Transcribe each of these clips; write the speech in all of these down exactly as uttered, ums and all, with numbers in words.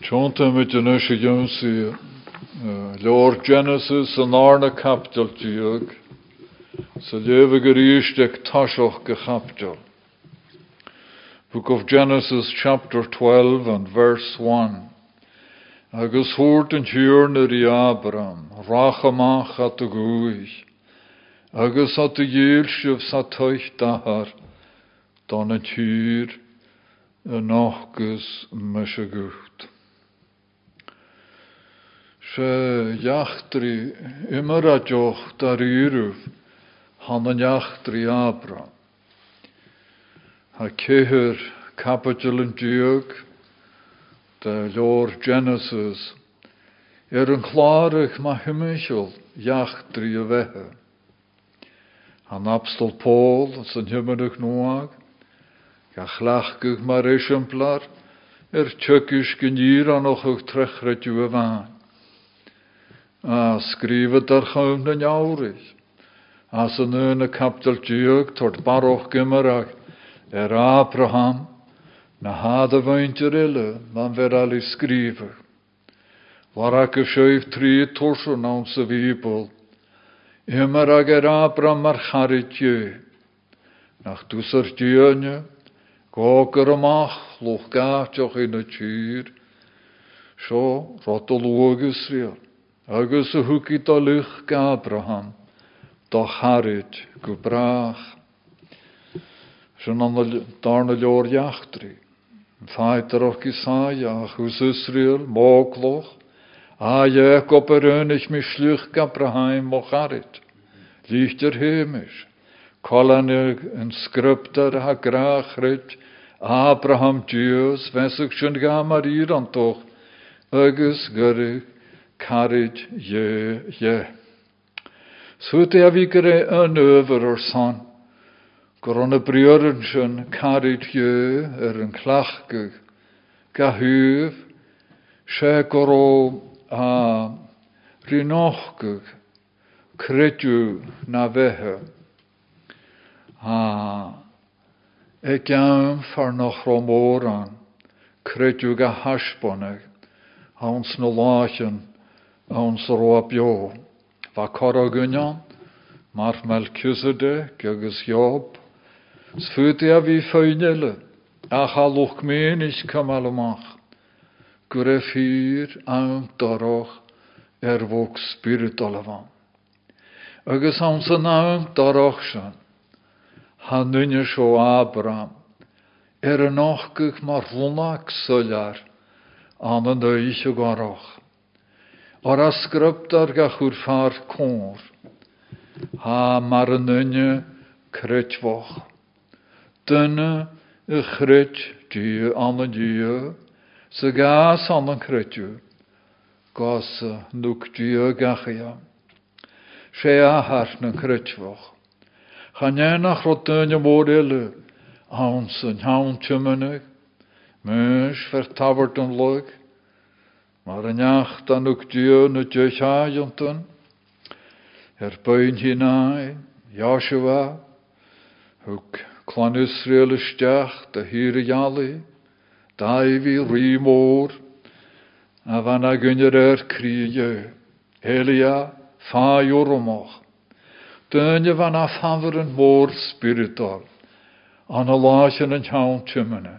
Tjonta met de nusje jonsie. Lord Genesis en Arne kaptel tjug. Så leve geriestek tashoch gekaptel. Book of Genesis chapter twelve and verse one. Agus hoort en tjurner i Abraham. Rachamach at de goeich. Agus at de jeelsjev sa tuich dahar. Dan het tjur en nachgus mesje gucht. Se jachtri immer a joch dar yruf. Han en jachtri Abraham. Ha keher kapitel en tjug. De Lord Genesis. Er een klarig ma hymmichel jachtri a wehe. Han apstel Paul, zijn hymmerig noag. Ga chlachgug mar exemplar. Er tjukkisch genier an och ug trechret uwe waan. A skrivet daar gewoon den jaurig. As een ene kaptel tjug tort baroch gimmerag. Er Abraham. Na hade weintje rille, man ver alli skriver. Warak schuif tri torsen aan se wiebel. Immer ag er Abraham mar charitje. Nach dusser djönje, goker amach, loch gaatjoch in het tjur. Zo, rotologus riel. Agus a hukit a luch ga Abraham. Da charit gebrach. Schon an de darne lor jachtri. Feiter och Jesaja, hus Israel, mogloch. A Jacob er önig mi sluch Abraham mocharit. Lichter hemisch. Kolanig en skrupter ha grachrit. Abraham Dios, wesig schon gamar iran toch. Agus gerig karit je je. Sute a vigere an överer son. Goronne breurenschen karit je er een klachgug. Gahuv. She goro a rinochgug. Kretu na vehe. A ek jaum far noch romoran. Kretu ga hashbonig. A ons no lachen. A ons roapjo. Va korogunjan. Mar Melchizedek agus Job. Sfute a vi feunele. A chaloch menig kamalomach. Gure fyr aan daroch er vok spiritualavan. Agus hans an aan daroch shan. Han nunje sjo Abraham. Er een ochgug mar vonak suljar. An an deisje garoch. Or a skruptar ga churfar kor. Ha mar an nunje kretvoch. Dunne e chret die an an die. Se gas an an kretju. Gas nuk die gachia. She a harf na kretvoch. Chanjen nach rottunje modelle. Hans en haun tjumenig. Mens vertavert en lug. Maar een jacht an nuk die nu tjuchajanten. Er buin hinein. Joshua. Huk klan Israel istach. De hire jali. Daivi rimor. A vanna gunjer er krije. Elia fa joromach. Dunje vanna faveren moor spiritual. An a lachen en haun tjumene.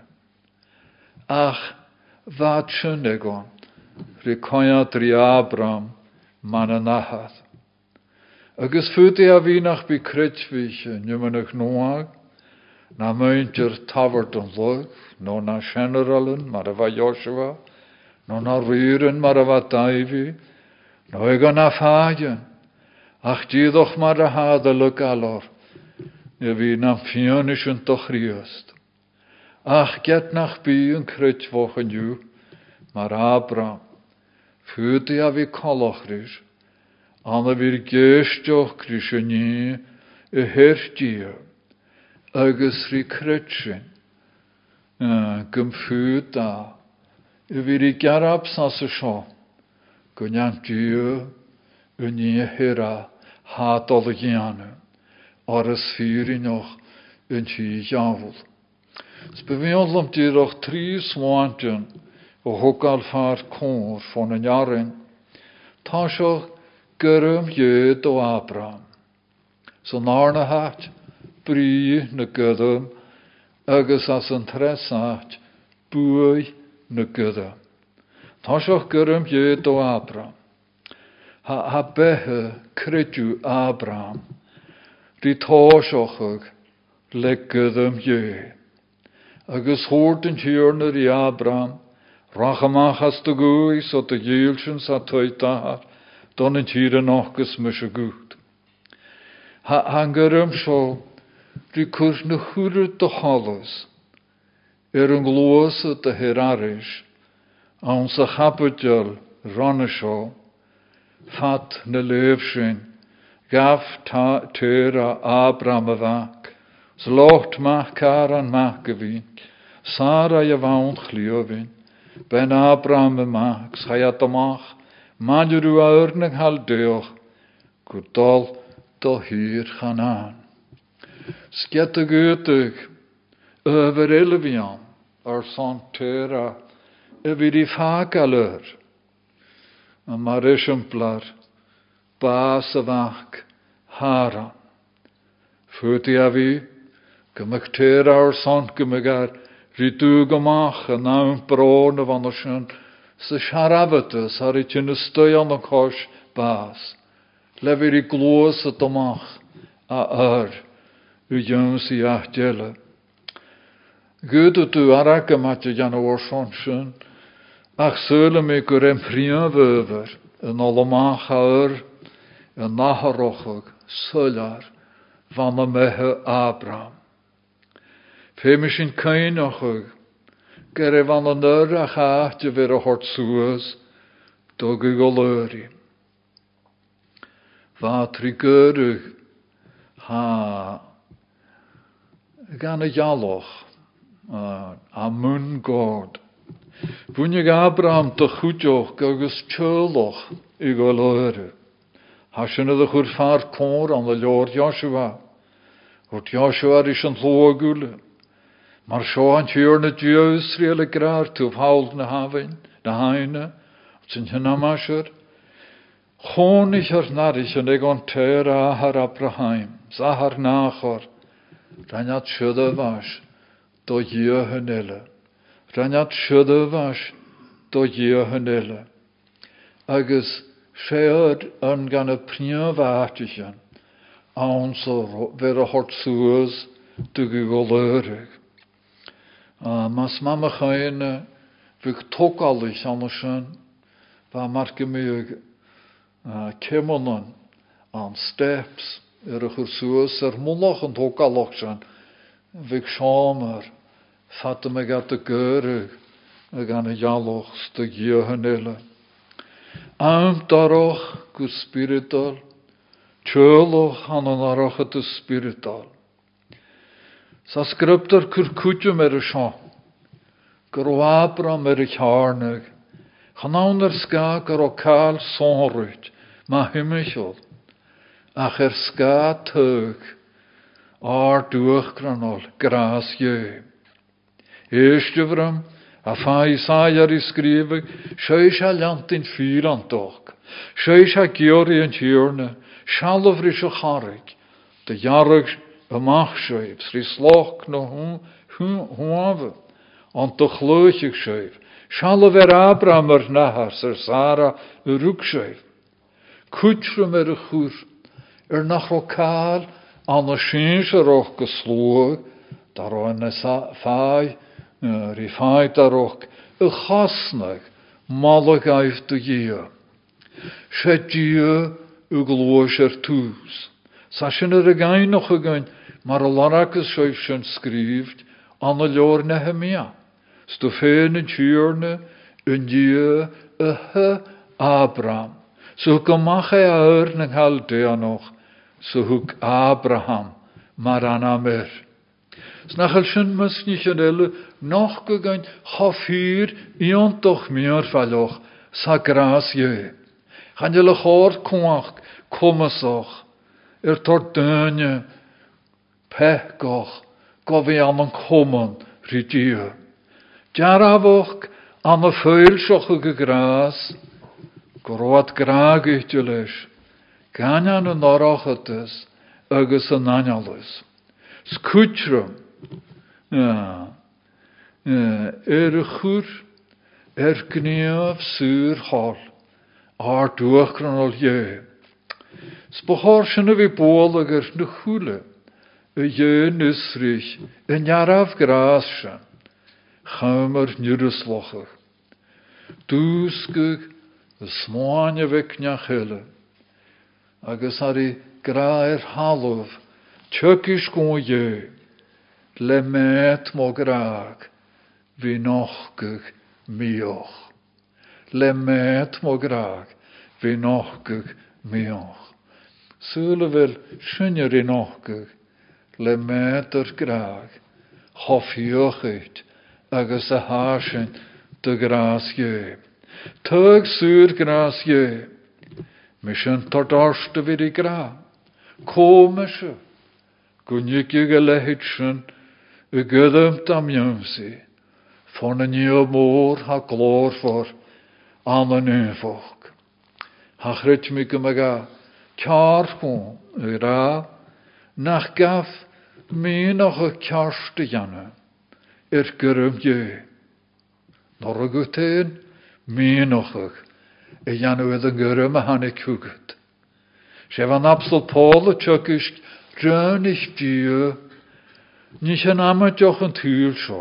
Ach, wat schönegon. Rikoyat ri Abraham mananahad. Agus fute a vinach bi kretschwiche. Njumenich noag. Na muintjer tavert en lug. No na generalen, maar va Joshua. No na ruren, maar va Davy. No ega na fagen. Ach, die doch maar de hadelijk alor. Je wie na fionischen toch riest. Ach, get nach bi een kretwochen ju. Maar Abraham. Fühlte ja wie kolochrisch. Anna wir geestjoch krisheni. E herstje. Agus ri kretschen. Gymffyd da. Y fyr I garab sas y sio. Gwyniant diw. Yn I hera. Hadol y gianw. Ar ys fyr I noch. Yn ti jafel. Sbefiol am dirach tri swantion. o hokal far cór von an jarin, tá seo gyrm jöd o Abraham. So narna hat, brí na gydym, agus as an tresat, bwy na gydym. Tá seo gyrm jöd o Abraham. Ha, ha behe credu Abraham, di tá seochag le gydym jöd. Agus hoort yn hiwrn yr i Abraham, rachamach as dy gwys o dy gylsyn sa toitahar, don yn hir yn ochgus mys y gwyd. Han gyrym sio, dy cwrs na chwryd dy holys, er yn glwys o dy heraris, awn sa chabydjol ron y sio, fat na lefsyn, gaf ta tyr a Abraham y fac, Zlocht mach karan mach gewin, Sarah je woont chliovin, ben Abraham mach, schayat mach, manjuru aurnig hal deoch, kudal do hier gaan aan. Skette goetig, over Elvian, ar santera, over die vakalur, en marishemplar, basavak, haran. Futi avi, Gymig teir ar sant gymig ar rydw gymach yn nawn bron y fan o sy'n sy siarafydus ar i ti'n ystoi an y cos bas. Lefyr i glwys y dymach a ar y ywns i ahdele. Gyd ydw arag yma ti gan o orson sy'n ach syl mi gwrem prian fyfyr yn olymach ar yn naharochog sylar van y mehe Abraham. Fe mis yn cain ochog, gere van y nyr a chaat y fyr o hort sŵas, do gygolöri. Fa tri gyrwg, ha, gan y jaloch, a mwn god. Bwynnig Abraham dy chwdioch gagos tjoloch i golöri. Hasyn ydych wrth far cwr an y Lord Joshua. Wrth Joshua is yn llwagwle. Mar sio an tiwr na diw Israel y graar tŵf hawl na hafyn, na haina, sy'n hynna masir. Chôn ich ar naris yn egon ter a har Abraham, zahar nachor, raniad sydd fas, do gio hynele. Raniad sydd fas, do gio hynele. Agus Sie'r yn gan y pnia faatichen, awn so fer y hort sŵs dy gygolörig. Mas mama chain fyg togalich anasyn, fa marge mig kemonan an steps er y chwrsŵs er mwloch yn togalach sy'n, fyg siamer, fata mig at y gyrig, ag an y jaloch styg i hynele. Am daroch gu spiritual, tjöloch an an aroch at y spiritual. Sa sgryptar cwrcwtio mer y sio, gyr o Abram mer y charnig, chanawn er sga gyr o cael sonrwyd, ma hymysiol, ach er sga tyg, ar dwych granol, gras ie. Eistefram, a fa Isaiah ar i sgrifig, seis a lant in fyr an doch, seis a giori yn tiwrna, sialof rys o charig, dy jarrig ymach seif, sri sloch no hwaf, ond dy chlwychig seif, sialof er Abraham er nahar, syr Sara y rwg seif. Cwtrym er y chwr, er nach o cael, an y syns er och gyslwg, dar o'n ffai, er i ffai dar och, y chasnag, malag aif dy gio. Se gio y glwys er tŵs. Sa sy'n yr again noch again, mar y laracus seif sy'n sgrifd, an y lor Nehemia. Sto fen yn tiwrne, yn gio y hy Abraham. So gymach e aur ng Chaldea noch, so hwg Abraham, mar anamer. Snachel sy'n mysnich yn ele, noch gygain chafir ion doch meer falloch, sa gras je. Chan jyl y chor cwach, cwmasoch, er tor dynne, pechgoch, gofi am yn cwmon, rydio. Jaravoch An y ffeilsioch y gras, gwrwad graag eich leis, ganyan yn orach ydys, agos yn anjalus. Sgwtrum, ja, er y chwr, er gniaf syr hol, ar dwachran ol ie. Sbachor sy'n y fi bol ag er na chwle, y ie nysrich, yn jaraf gras sy'n, chamar nyryslochach. Dwsgwg, y smoan y fecniach hele, agos ar i graer halwf, tjökis gwn ie, le met mo graag, fi nochgwg mioch. Le met mo graag, fi nochgwg mioch. Sŵle fel synier i nochgwg, le met yr graag, hofioch eich, agos y hasyn dy gras ie. Tug sŵr gras ie, mysyn tordorst y fyr i gra, komische, gwnig i gylehyd sy'n, y gyddymd am ymsi, von yn yw môr ha glor for, an yn ynfog. Ha chryd mi gymaga, car chwn, y ra, nach gaf, mi noch y carst y janna, er gyrym ie. Nor y gwtyn, mi noch y, y janna oedd yn gyrym a hannu cwgyd. Sef an absol Paul y tjögys, rön ich die, nicht an amadjoch yn tŵl sio.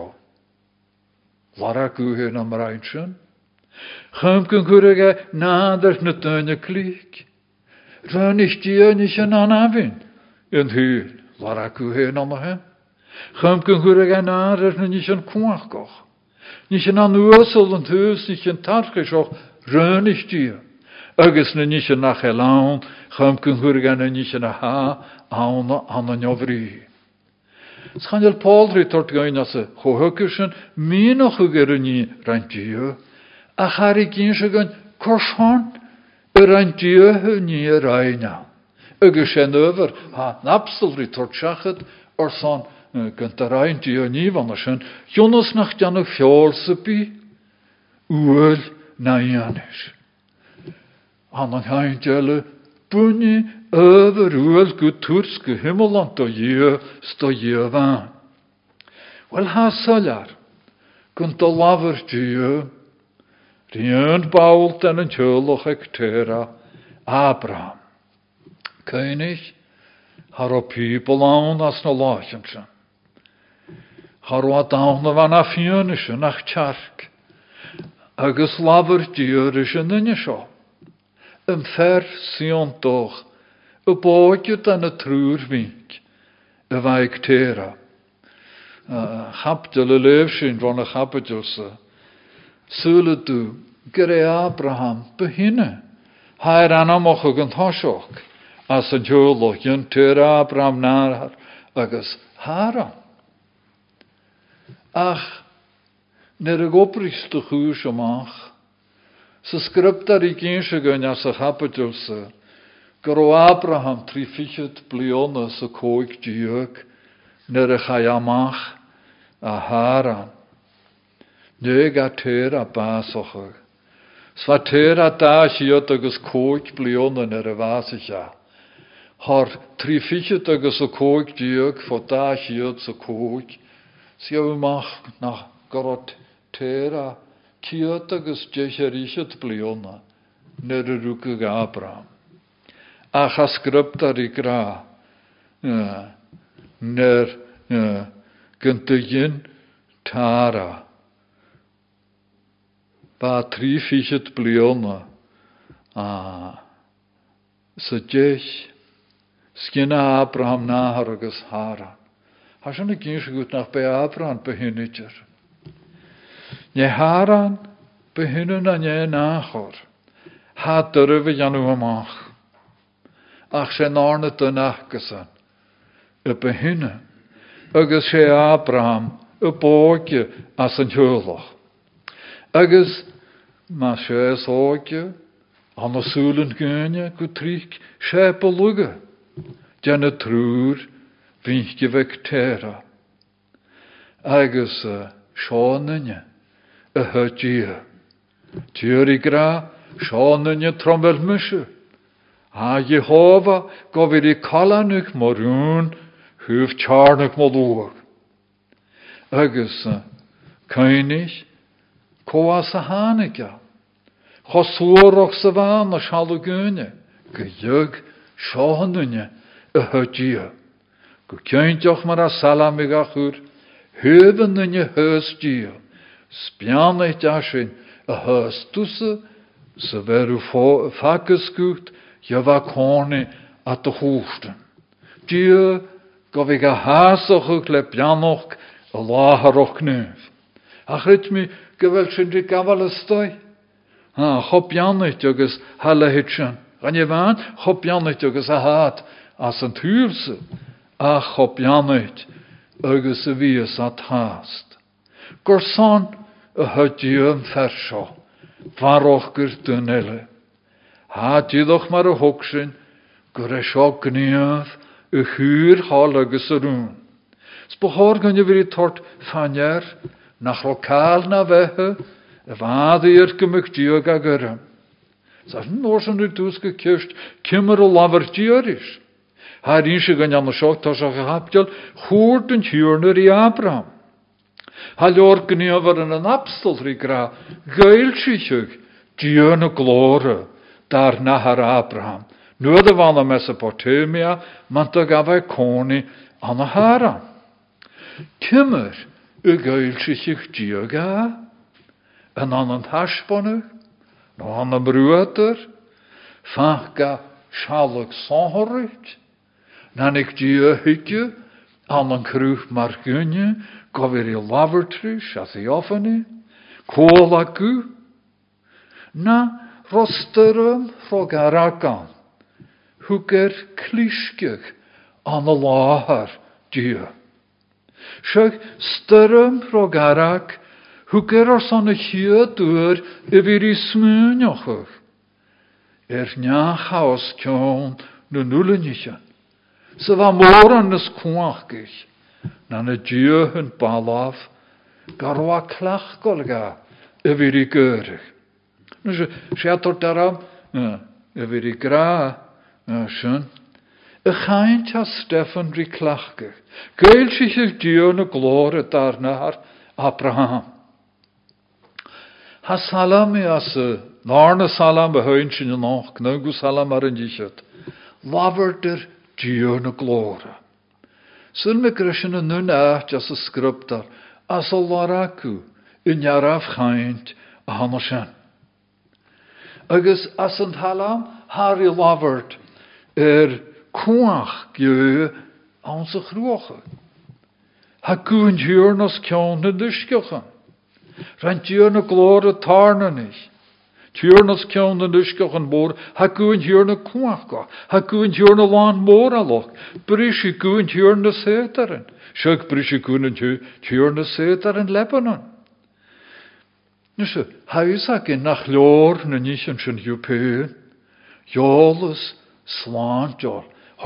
Lara gwhyn am reinsen. Chymg yn gwrega nadar na dyna clig. Rön ich die, nicht an anafyn, yn tŵl. Lara gwhyn am hem. Chymg yn gwrega nadar na nicht an kwachgoch. Nicht an anwysol yn tŵs, nicht an tarchisoch, rön ich die. Agus na nicht an achelaun, chymg yn gwrega na nicht an aha, auna an an jovri. Schanel Paul ritort gain as a hohukishen, mi noch ugeruni rantieu, a harigin shagan korshon, a rantieu ni raina. Ugeshen over, ha napsel ritort shachet, or son gant a rantieu ni vanashen, Jonas nach janu fjolsepi, uel na janish. Anan haintjelle, bunny, over uel guturske himmeland to je sto je van. Wel ha solar, kunt de laver je, rien bault en een tjoloch ektera, Abraham. König, har o people aan as no lachensen. Har o adaan van afjönische nach tjark, agus laver je rische ninjesho. Een ver sion toch, een bootje dan een truurwink, een wijk tera. Chaptele leefshin van een chapetjelse. Zullen du, gere Abraham, beginnen. Hij anamoch een thoshoch, as een joloch, jen tera Abraham naar, agus haram. Ach, ner een opriste goes omach, se scriptar i gynshe gyn as a chapetjelse, Gro Abraham trifichet bliona sa coig diog, ner a chayamach a haran. Neg a ter a basochag. Sva ter a da siot agus coig bliona ner a vasicha. Har trifichet agus a coig diog fo da siot sa coig. Siaw mach nach gorot ter a kiot agus jecherishet bliona ner a rukag Abraham. Ach a sgryptar i gra, ner gyntygyn tara, ba tri fichet bliona, sa jeich, sgina Abraham nahar agus haran. Hashan y gyns gwt nach be Abraham behynidger. Ne haran behynyn a ne nachor, ha dyrwyf janw amach. Ach sé nárna dyn achgasan, y behinne, agus sé Abraham, y bóge as an hjoloch. Agus, ma sé sóge, an a súlen gynne, go trík sé beluge, djenne trúr, vinske vek tera. Agus, uh, sjónenje, a hyddia. Tuuri gra, Sean yn y trombel mysio. A Jehova gofir I kalanuk morún, huf tjarnuk molúr. Agus, König, koas a hanigja. Chosúroch sa van a shalugune, gyjug, Seanunne, a hyddia. Go kjöntjoch mar a salamigachur, hövenunne hösdia. Spjaneit ashin, a höstusse, se veru fakeskucht, java kone at de hoesten. Die gaf ik a haasach le pianoch, a laharoch neuf. Ach rit mi geweld sin di gavalestoi. Ha, chop janit agus halle hitchen. Gan je waan, chop janit agus a haat, as an thuurse. A chop janit, agus a vies at haast. Gorsan, a hudjum versho. Varoch gur dunelle. Ha didoch mar a hokshin, gur a sho gniaf, a huur hal agus a roon. Sbehor gan je vir tort fanjar, nach lokaal na wehe, a vadir gemuk diog a gurram. Sas norsan u dus gekirst, kimmer a laver diorish. Ha rinshe gan jan a shok tas a gehapjal, hoort en hjurner I Abraham. Ha lor gniavar an an apstel rigra, geilshichug, dierne glore, dar nahar Abraham. Nu de van a Mesopotamia, man da gaf a koni an a Haran. Kimmer, u geilshichug dioga, en an an hashbonnig, no an a bruater, fachga shaluk sonhorit, nan ik dio hikje, an an kruch margunje, gavir I lavertrush, as I offene, kolaku, na rosterum frogarakan, huker klishkig an a lahar dio. Shug sturum frogarak, huker ar son a hiedur I vir I smunjochug. Er nja chaos kjon nu nullenjichen. Se va moran nes kwachgich. Na a dio hun balaf, garwa klachgolga, e vir I geurig. Nu se schator daram, e vir I gra, schön. E chaint ha Stefan ri klachgich. Geil sich ich dio na glore darnahar Abraham. Ha salam I as narne salam behuintje in noch, knugu salam ar in jichet. Laverder dio na glore. Sun me grishin a nun acht as a scriptar, as a laraku, in jaraf chaint a hanoshan. Agus as an halam, hari lavert, er kuach geu aan se groge. Ha kuin jurnas kjon de duskjochen. Rent jurna glore tarne nicht. Tjurnas kjon de duskjochen boor, ha kuin jurna kuach go. Ha kuin jurna lan moraloch. Brishi kuin jurna seteren. Shuk brishi kuin jurna seteren Lebanon. Nusse, huisak in nach lor na nischen schon jupeun. Jolus slantjol.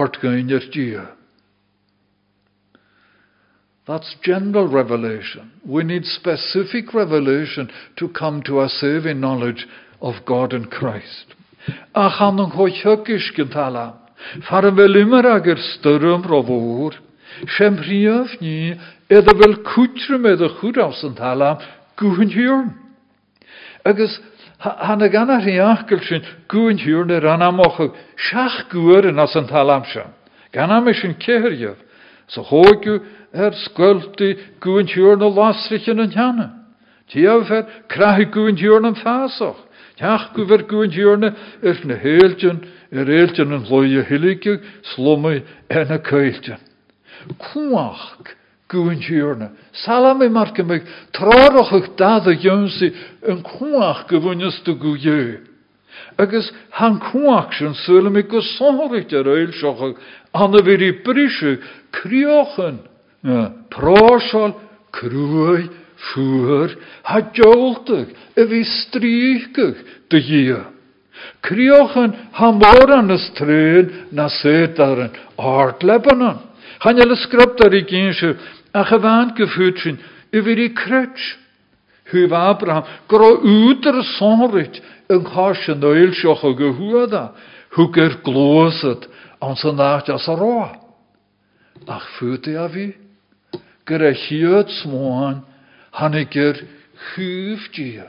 That's general revelation. We need specific revelation to come to a saving knowledge of God and Christ. Ach an een hoichukisch gentala. Faren wel immer ager sturm rovor. Shem rief nie. Eda wel kutre met de goed aus en talam. Guhen huren. Agus han a gan a riachgelsin gúin hiúrne ranamocha seach gúrin as an talamshan. Gan am is an keirjef. So hóigu er skulti gúin hiúrne lasrichen an janne. Tiafer krahi gúin hiúrne fásoch. Tiach gu ver gúin hiúrne er na heeltjen, er heeltjen an loie hilikig, slumme en a keiltjen. Kuach gúin hiúrne. Salame marke meg trarach ag dada jonsi an kuach gewunnes de gúje. Agus han kuach sin sule me go sonhorig der eilsachag an a veri brische kriochen. Prásal, krúi, fuer, ha joltig, a vi stríkig de jie. Kriochen ha moran as trein na setaren art Lebanon. Han jelle skriptar i gynsju a gewaan gefuutsin over die krutsch. Huf Abraham, gro úter sonrit, yn chas yn oel sioch o gyhwada, hw gyr glosad, an sy'n nacht as a roa. Ach fwyd a fi, gyr a hiad smoan, han i gyr hwf dia.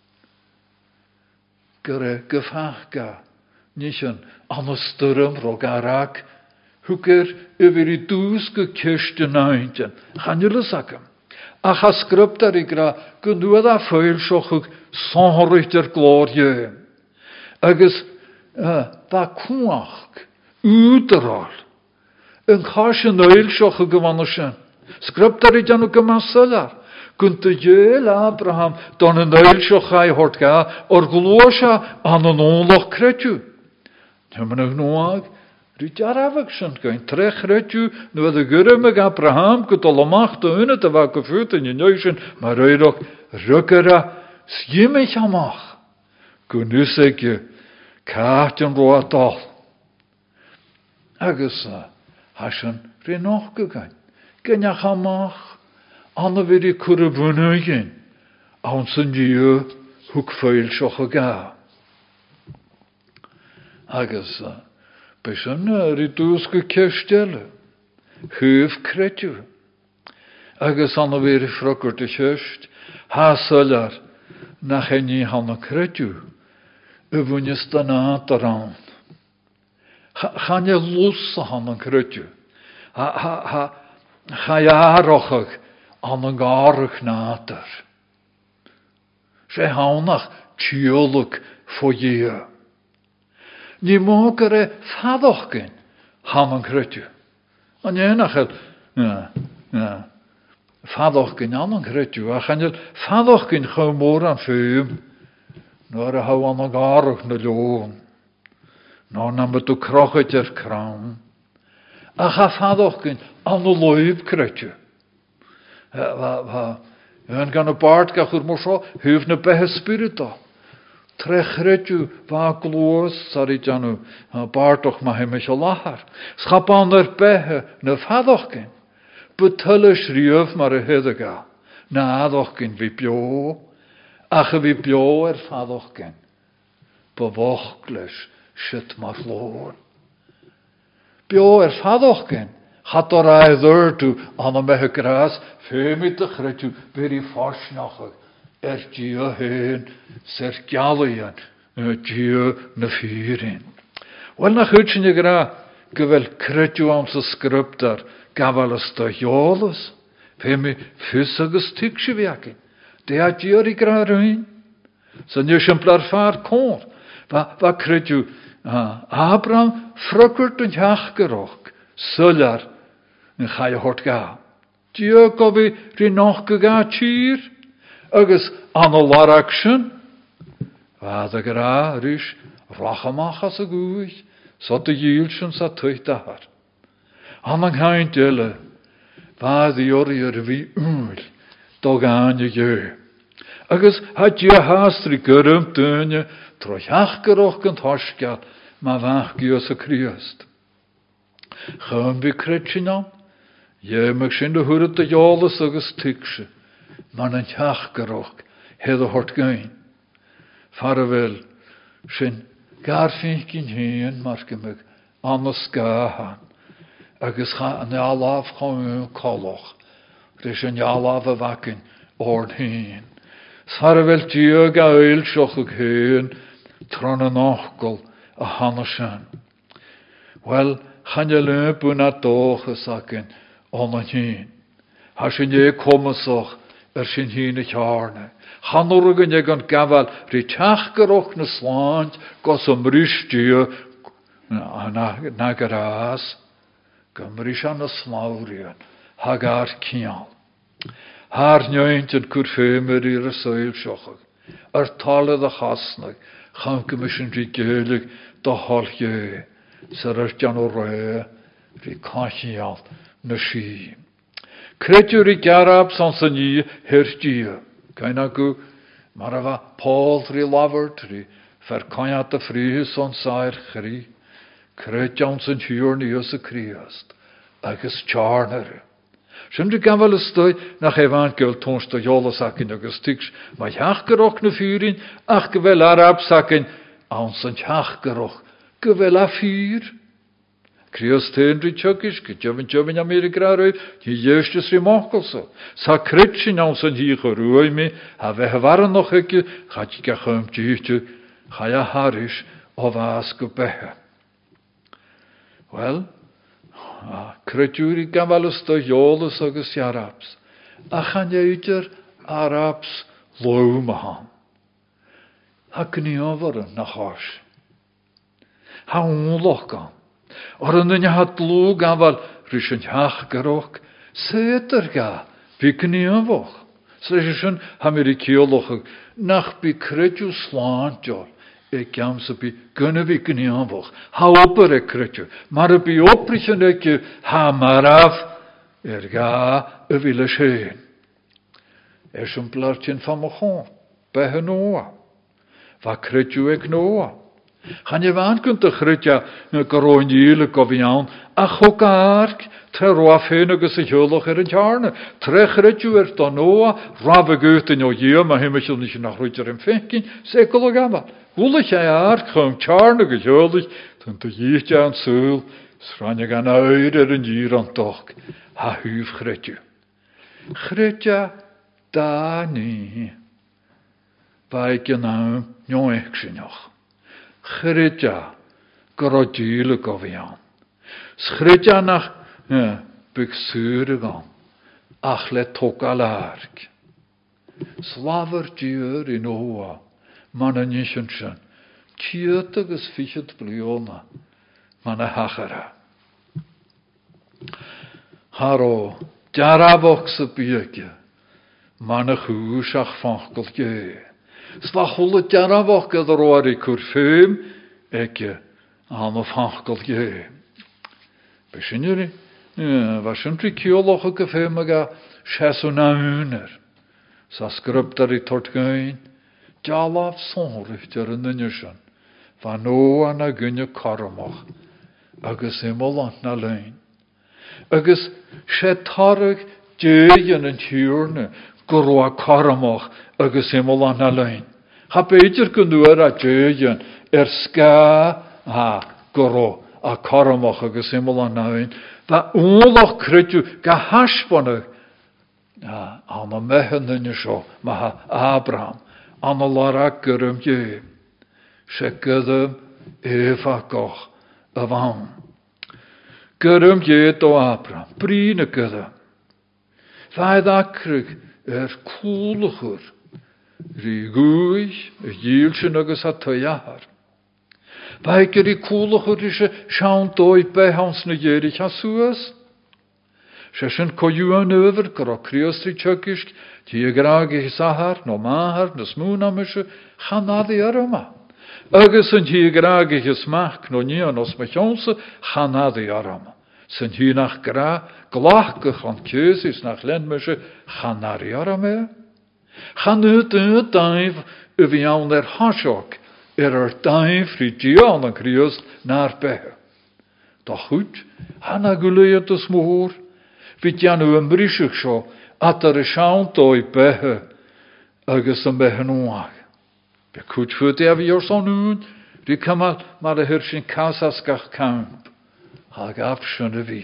Gyr a gyffachga, nishan an y styrym rog arag, hw gyr yfyr i dŵs gy kyrst yn aintyn, chan i lysagam. Ach a sgryptar i gra gynnwyd a ffeil siochwg sonhorit yr glor ie. Agus da cwach, údral, yn chas yn oel siochwg gyfanwysyn. Sgryptar i janw gymasylar. Gynta jöl Abraham don yn oel siochau hortga o'r glosha an yn oloch credw. Hymyn ag nwag, ryd arafag sy'n gain trech redw nwyd y gyrym ag Abraham gydol o macht o yna dy fag o ffwyd yn ynioes yn mae'r oerog rygyra sgymich amach. Gwnnws ag yw caat yn roa dol. Agus hasyn rhenoch gygain. Gynnach amach anna fyr i cwrybwyn oegyn. Awn sy'n diw hwg ffeil sioch o ga. Agus bysyn rydws gy cyrstele. Hwf credw. Agus anna fyr i ffrogwrt y chyrst. Hasylar na chenni hanna credw. Yfwynys da na daran. Chan e lws han yn credw. Ha, ha, ha, cha iarochag an yn garach nader. Se hawnach tiolwg fo ie. Ni mogar e fadochgyn han yn credw. An enachel, ja, ja, fadochgyn an yn credw. A chan e fadochgyn chaw môr an ffym. Nor a haw an yn garach na loon. Nor na ma du crochet er kraam. A cha fadochgyn an y loib credw. Va, va, yn gan y bard gach yw'r mwysio, hyf na behe spirita. Trech credw va glwys ar i janw, bardoch ma hem eich o lahar. Schap an yr behe na fadochgyn. Betylys rieuf mar y hyddaga. Na adochgyn fi bio. Ach y fi bio er fadochgyn. Bewochglys shit mar loon. Bio er fadochgyn. Had er ei ddyrtw an y mehe gras. Femid y chredw fyr i ffosnachag. Er dio hyn, ser gialian, dio na ffyrin. Wel na chwyd sy'n y gra, gyfel credw am sy sgryptar, gafal ystahiolas. Femi ffys agos tig sy'n fiagin. De a dio i gra rhywun. Sy'n yw siamplar ffar cwr. Fa, fa credw, Abraham ffrygwrt yn hiachgeroch, sylar yn chai hort ga. Dio gofi rhinoch gyga tyr. Agus an y larag sy'n. Fad ag yr a rys rachamach as y gwyll. So dy gil sy'n sa twyth dahar. An ang hain dyle. Fad i ori ar fi ŵl. Dog an y gyw. Agus ha dia hastri gyrym dynja. Troch achgeroch gynt hosgad. Ma fach gyos y criast. Chym fi credsin am. Ie, mag sy'n dy hwyrdd dy iolas agus tigsy. Man yn achgeroch. Hedd o hort gain. Farafel. Sy'n garfych gyn hyn mar gymig. Anos gahan. Agus cha yn alaf chwn coloch. Rys yn alaf y facyn o'r hyn. Farafel diog a oel sioch ag hyn. Tron yn ochgol a hanesan. Wel, chan y lymp yn a doch ys acyn on yn hyn. Ha sy'n ie comasoch er sy'n hyn y charne. Chanwrg yn eg yn gafal rhi tachgeroch na slant gos ymrysdio na, na, na garas. Gymrys an y slawrian hag ar cial. Haar nioint yn cwrffemer i'r ysoel siochog. Ar taledd a chasnag chan gymys yn rhi gelig da holge. Sy'r ar jan o re rhi cachial na si. Credwr i garab san sy'n ni hyrdia. Cain agw, mar efa Paul rhi lafert, rhi fercaniad y ffrihys o'n sair chri. Credjawn sy'n hiwr ni ys y criast, agos charner. Sin de gan wel stoi nach evangel tons de jolle sakin agus tiks, maar jach geroch na furin, ach gewel Arab sakin, ans en jach geroch, gewel a fur. Krios tendri chukish, ke joven joven Amerika roif, die justus remarkelso. Sa kritsin ans en hier gerooi me, ha we waren nog ikke, gaat je gachum tjuutje, ga ja harish, of as gebehe. Wel, Credjúri gamalus do jolus agus Arabs. A chan jeuter Arabs loemahan. Ha gnioveren nach hars. Ha onlokan. Oran yn hat lw gamal rysyn hach garok. Seter ga, bi gniovoch. Sresyn hamirikioloch nach bi credju slantjol. Ik jam ze bij kunnen we kunnen aanvoeg. Ha oper ik kretje, maar bij oprichten ik je ha maar af. Er ga er willen scheen. Er is een plaatje van me gewoon bij hen Noah. Wat kretje ik Noah? Gaan je waan kunt de kretje een koronjele koviaan. Ach ook ark, tre roafheen ook eens een hulog er een jarne. Tre kretje er dan Noah, rabbe geut in jou hier, maar hem is je niet naar ruiter en vinken. Zeker gamma. Woelig jij haar, gewoon charne gejuldig, toen de jietje aan zeul, schranje gaan uit er een jier aan toch. Ha huif gretje. Gretje, daar niet. Bij je nou, jong ik ze nog. Gretje, grodjile govian. Schritja nach, ja, buxure gaan. Ach, let tok alark. Slaver djur in oa. Man een nishenschen, tjurtiges fichet bliona, man een hachera. Haro, jarabokse bieke, man een goesach vankeltje. Slachole jarabokke de roari kurfeum, eke, aan een vankeltje. Besjen jullie? Ja, was een trikiologe gefeumega, chassonamuner. Sa skrubtari tortgein. Jalaf sonrifter in nynjushan, van Noa na gunje karamach, agus imolant na lein. Agus shetarig djejen en tjurne, goroa karamach, agus imolant na lein. Ha beter kunduer a djejen, er ska, ha, goro, a karamach, agus imolant na lein. Va onlach kritju, ga hashpanig, ha, ana mehen nynjusho, ma Abraham. An a larak gyrym je. Se gydym efa goch y fan. Gyrym je do Abram. Brin y gydym. Faedd acryg er cwlwchwr. Ri gwych y gilsyn agos a tyar. Faedd gyri cwlwchwr ishe siawn doi behans na gyrich a sŵas. Se sy'n coiwan over gyro criostri tjökisk. Die grage sahar, no mahar, no smoonamische, chanadi arama. Agus en die grage gesmak, no nie nos mechonse, chanadi arama. Sen hier nach gra, glachke van keusis nach lenmische, chanari arame. Chan ut ut daif, uvian der hashok, er er daif, rigian en kriust, naar behe. Doch goed, hana guleet de smoor, vit jan u een brischig scho, at er siawn doi behe, agus yn behe nwag. Be cwt fwyd ef i o'r son wn, ri cymal mar y hyrsyn casas gach camp, hag afsyn y fi.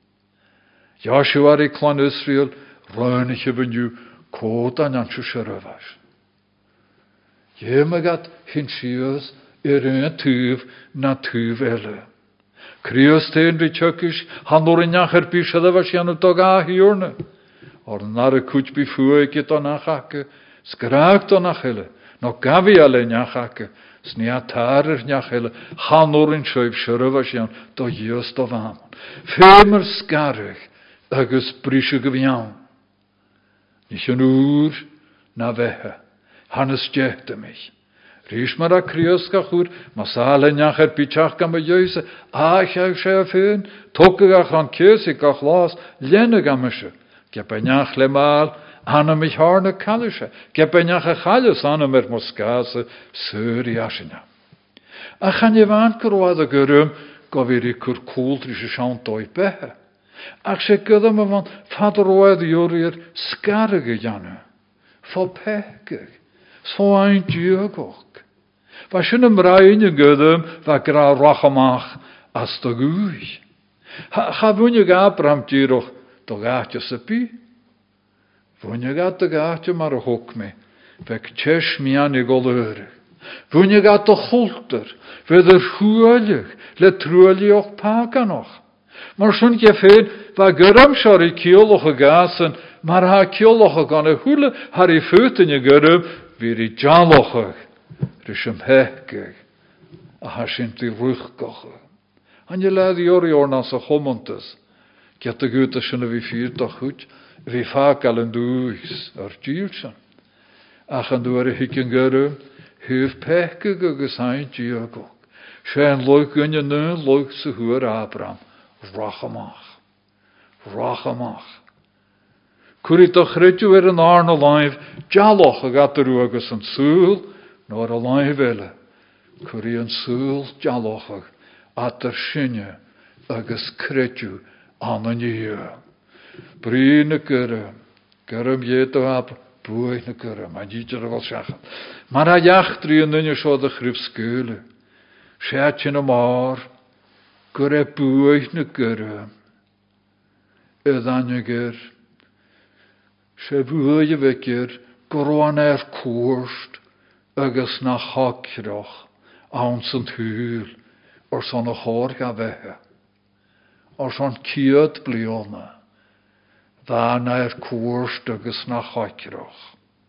Joshua i clan Israel, rhaen ich efo niw, cod an ansio syrafas. Iemegat hyn sios, er yn tŵf na tŵf ele. Crios te'n ri tjökish, han o'r inyach er bysad efo sian o dog a hiwrne. Or nar y cwt bi fwy gyda o nachake, sgrag do nachele, no gafi ale nachake, sni atar yr nachele, hanor yn sjöif syrfas iawn, do ios do fam. Femer sgarach, agus brisio gyfiawn. Nis yn ŵr na fehe, hanes jehte mich. Rys mar a criosgach ŵr, mas ale nacher bichach gam y jöse, a chau se a feun, tokegach an kiesig gach las, lenne gam ysio. Gepenjach le mal, anna mich harne kalische. Gepenjach a chalus anna mer moskase, suri asina. A chan je waan kroada gyrym, gofiri kur kooltrische sian doi behe. Ach sé gyda me van fadroedd yw'r sgarg y janw. Fo pegig. So ein diogog. Fa sy'n ymraen y gyda fa gra rachamach as dy gwy. Ha fwyn y gabram diroch do gatio sypi. Fwyn y gat y gatio mar y hwc me. Fe ctesh mian i golwyr. Fwyn y gat o chwlter. Fe ddyr hwylig. Le trwyliog paganoch. Mar sy'n gefyd fa gyram siar i cioloch y gasen. Mar ha cioloch y gan y hwyle har i ffytyn y gyram. Fyr i jaloch ych. Rys ym hegig. A ha sy'n di rwchgoch ych. Han je laat die ori ornas a chomontes. Get de gute sy'n y fi fyrt o'ch hwt. Fi fag al yn dwys ar diwlsan. Ach yn dwyr y hig yn gyrw. Hyf pegig agos hain diogog. Sian loig yn yn yn loig sy hwyr Abram. Rachamach. Rachamach. Cwri doch rydw er yn arn o laif. Jaloch ag adarw agos yn sŵl. Nor a laif ele. Cwri yn sŵl jaloch ag. At yr sinne agos credw anan i. Brin y gyrra. Gyrra mied o ab bwy na gyrra. Mae'n dîdr o fel siachan. Mae'r a iach dri yn yn ysio dy chryf sgyle. Siat yn y mar. Gyrra bwy na gyrra. Yddan y gyr. Se bwy y fecyr. Gyrwan er cwrst. Agos na chacroch. Awn sy'n hwyl. Or son a chor ga vehe. Or son kiad bliona. Dha na er cwrst agus na chacroch.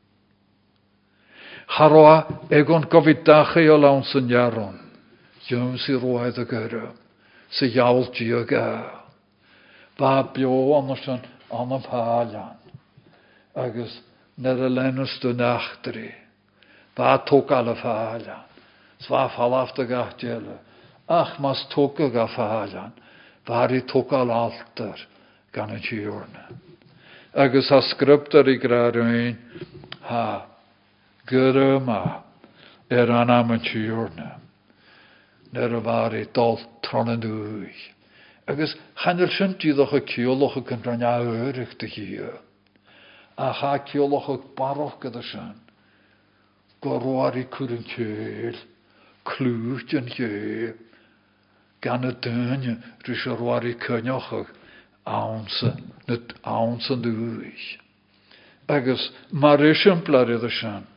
Charoa egon gofidachu o lawn sy'n jaron. Yw'n si roed y gyrra. Sy jawl di o ga. Ba bio anna sy'n anna palian. Agus nid y lenus dy nachtri. Ba tok ala palian. Sva falaf dy gachdiela. Ach, mas toca ga fahalan, vari toca altar gan y tiwrna. Agus ha sgryptar i graduin, ha, gyda ma, er anam y tiwrna. Ner y vari dol tron yn dwy. Agus chanel sy'n dyddoch y cioloch y cynrania yrich dy hir. A ha cioloch y baroch gyda sy'n. Gorwar i cwryn ceil, clwyd yn hir. Gan y dyn rys yr war i cynioch awns yn dwy. Agus mae'r esiamplar iddo sian.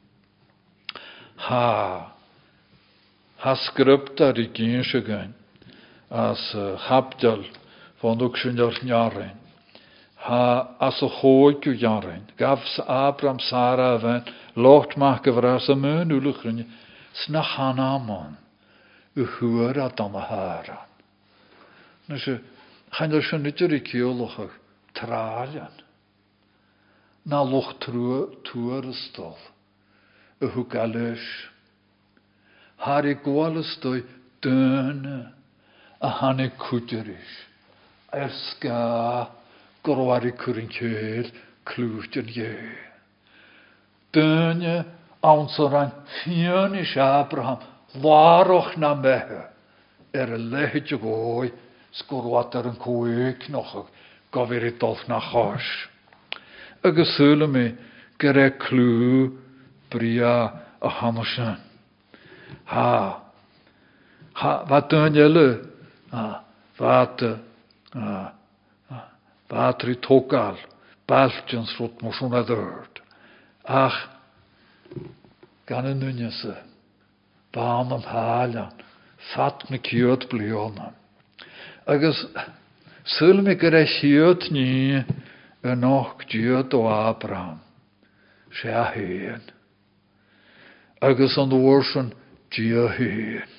Ha. Ha sgryptar i gyns y gyn. As habdal fondwg sy'n o'r nyarin. Ha as y hoed yw nyarin. Gafs Abram Sara fan locht mach gyfras y myn wlwch ryn. Sna hanamon. Y hwyr a dan y haran. Nes y chan o'r sy'n nidr i ciolwch ag tralian. Na loch tŵr ystol. Y hwgalys. Har i gwal ystoi dyna a hannu cwdyrys. Er sga gorwar i cwryn ceir clwyd yn ie. Dyna awns o'r ein fion is Abraham. Waroch na mehe, er y lehyd y goi, sgwrwad ar yn cwyg noch, gofir i dolf na chos. Agus sŵl mi, gyda clw, bria a hamosan. Ha, ha, fa dyn yle, ha, fa ha, fa tri togal, baltjans rwt moswn a ddyrd. Ach, gan y nynnysa. Baan am halan, fat me kiot blionan. Agus, syl me gyda chiot ni yn och diod o Abraham. Se a hyn. Agus an orsyn dia hyn.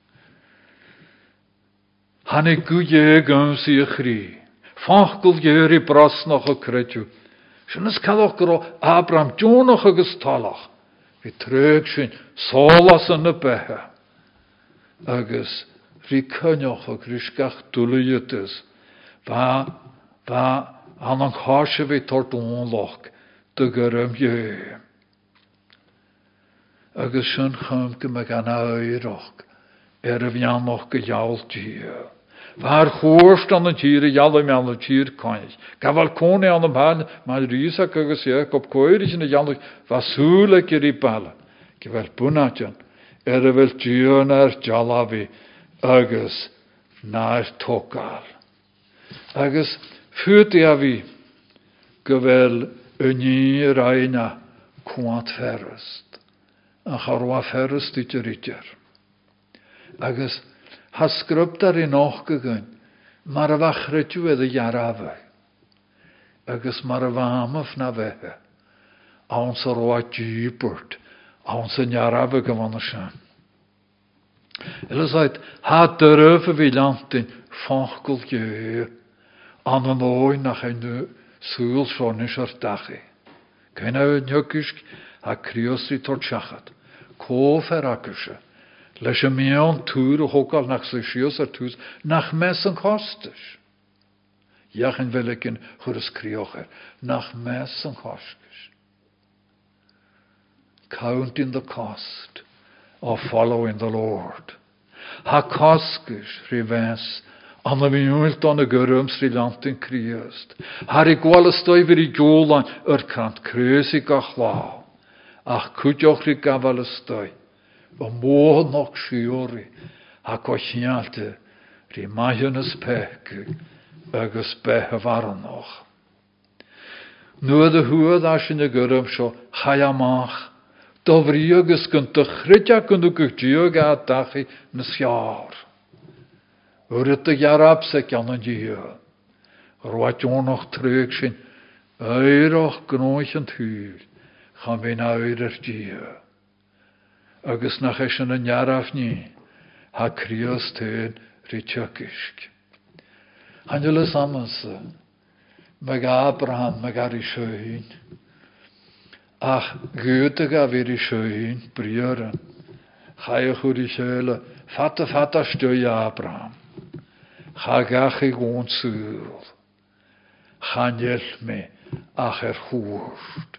Han e gwyie gans i chri. Fachgul gyr i brasnach o credw. Sy'n ysgaddoch gyro Abraham dionach agus talach. Vi trög sy'n solas yn y beha. Agus ri cynioch ag rysgach dwlyydys. Va, va, anang hashe vi tort onloch dy gyrym ie. Agus sy'n chym gymig anna eiroch er y fiannoch gyjawl dia. Waar hoorst aan het hier, jalle me aan het hier kan ik. Gaval kone aan de baan, maar Risa kugus Jacob koerig in de jalle, was huwelijk je die ballen. Gewel bunatjan, er wil duur naar jalavi, agus naar tokal. Agus vuurt ja wie, gewel een reina kwant verrust. En garwa verrust dit je ritjer. Agus ha sgrub daarin nog gegaan, maar a wachret u de jarave. Agus maar a wamaf na wehe. Ons er wat dieper, ons een jarave gewonnen zijn. Ele zei, ha durven wie land in vankeltje aan een ooi nach een zuul schonischer dache. Geen uit njukisk, ha kriosri tot schachat. Ko verrakische. Leis een meon toer ook al nach sesios er toes, nach messen kostes. Jachen wil ik in churus kriocher, nach messen kostes. Count in the cost of following the Lord. Ha koskes rivens, an de minuut aan de gerums rilant in kriest. Har ik wel stoi vir i jolan, er kant kreusig ach lau. Ach kutjoch rik wel stoi. Om morgen nog schiori, ha kochnialte, ri majones peke, agus behe waren nog. Nu de huad as in de gurm scho, chayamach, dovri agus kunt de chritja kunt de kutjoga dachi nes jaar. Urit de jarab sek an een dier. Roat jo nog terug zijn, eiroch gnoichend huur, gaan we na eirer dier. Agus nach eis yn jaraf ni, ha krios tein ritjökisk. Angela Samuelse, meg Abraham, meg ar i sjöin. Ach, Goethe gav ir i sjöin, brieren. Chaiach ur i sjöle, fatta fatta stöi Abraham. Cha gach i gôn sŵl. Chanel me, ach er hwrt.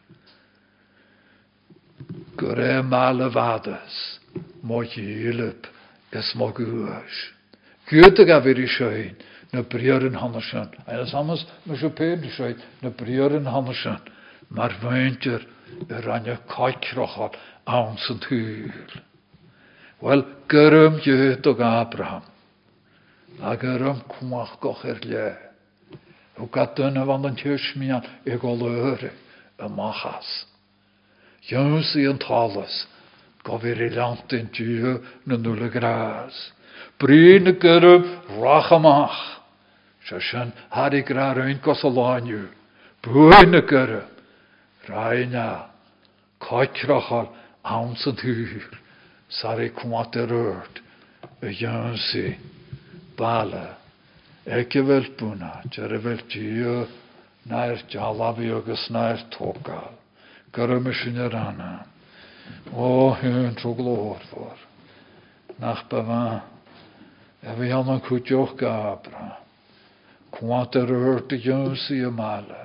Gore male vades, mo hilp, es mo guas. Goethe gaf ir i sjöin, na brieren hannersen. En sammens, me so peer sjöin, na brieren hannersen. Maar weintjer, er an je kajkrochal, aansend huur. Wel, gyrm jöt og Abraham. A gyrm kwach goch er le. O gat dyna van den tjösmian, eg ol öre, y machas. Jöns i en talas, gav ir i lant in tjö, na nulle gras. Bryn y gyrm, rachamach. Sjøsjen, har ik rar ein gos a lanju. Bryn y gyrm. Raina, kajkrachal, aansend huur, sari kwat er rørt, e jönsi, bale, ikke vel buna, tjere vel tjö, nær jalavi agus nær tokal, gyrmishin er anna, o hun tro glor for, nach bevan, e vi annan kutjoch gabra, kwat er rørt e jönsi e male,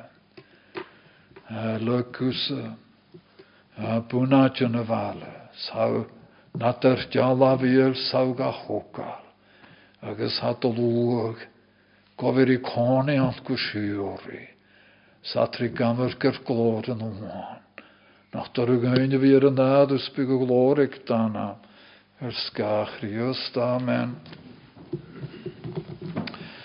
Lukusse, bunatje vale, sau natter jalaviel sauga hokal, agus hat lúg, goveri kone ant kushiori, satri gammer ker gloren oman, nach der gøyne vir en adus bygge glorik dana, er skachri just, amen.